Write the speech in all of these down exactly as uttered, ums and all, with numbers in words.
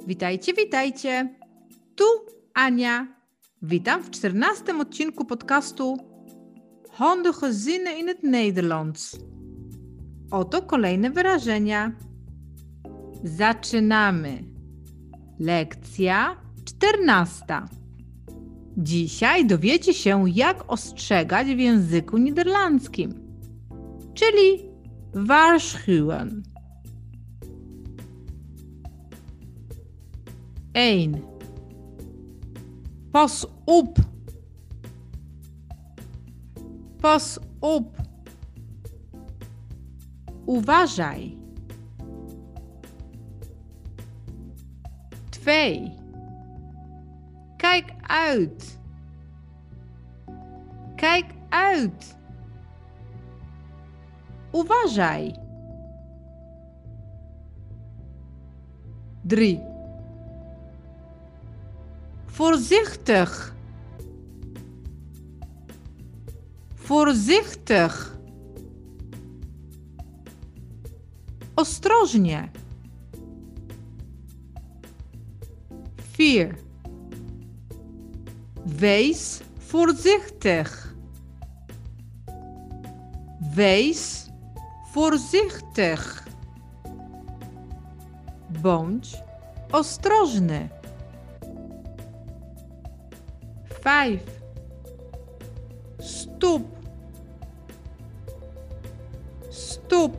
Witajcie, witajcie. Tu Ania. Witam w czternastym odcinku podcastu Handige zinnen in het Nederlands. Oto kolejne wyrażenia. Zaczynamy. Lekcja czternasta. Dzisiaj dowiecie się, jak ostrzegać w języku niderlandzkim, czyli waarschuwen. één. Pas op. Pas op. Uważaj. Twee. Kijk uit. Kijk uit. Uważaj. Drie. Voorzichtig. Voorzichtig. Ostrożnie. Vier. Wees voorzichtig. Wees voorzichtig. Bądź ostrożny. Vijf. Stop. Stop.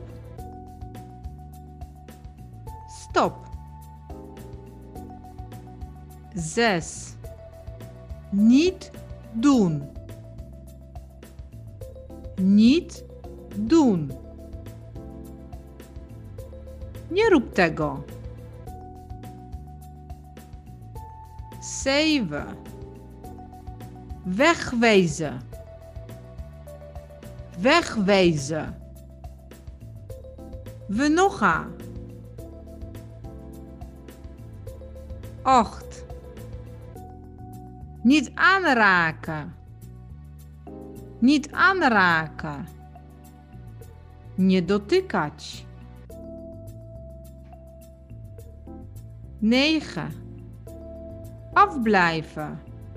Stop. Zes. Niet doen. Niet doen. Nie rób tego. Zeven. Wegwezen. Wegwezen. Wynocha. Acht. Niet aanraken. Niet aanraken. Nie dotykać. Negen. Afblijven.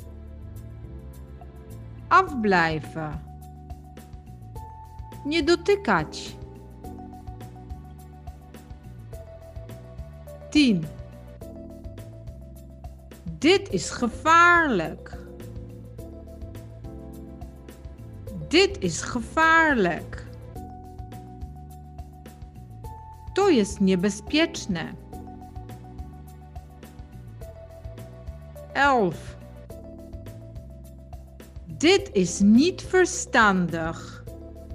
Afblijven. Nie dotykać. Tien. Dit is gevaarlijk. Dit is gevaarlijk. To jest niebezpieczne. Elf. Dit is niet verstandig.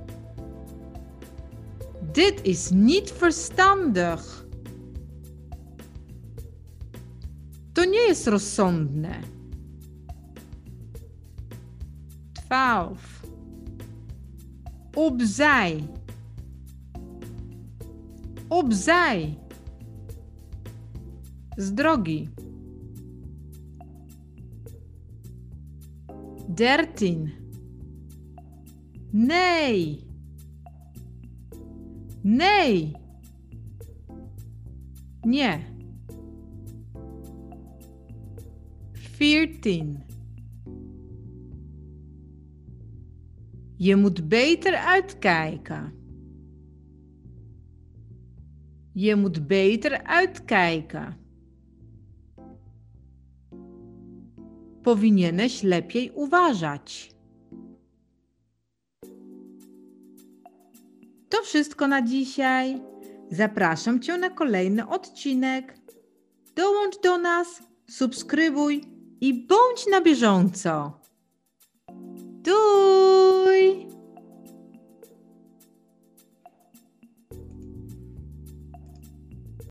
Dit is niet verstandig. To nie jest rozsądne. Twaalf. Opzij. Opzij. Z drogi. Dertien. Nee. Nee. Nie. Veertien. Je moet beter uitkijken. Je moet beter uitkijken. Powinieneś lepiej uważać. To wszystko na dzisiaj. Zapraszam Cię na kolejny odcinek. Dołącz do nas, subskrybuj i bądź na bieżąco. Doei!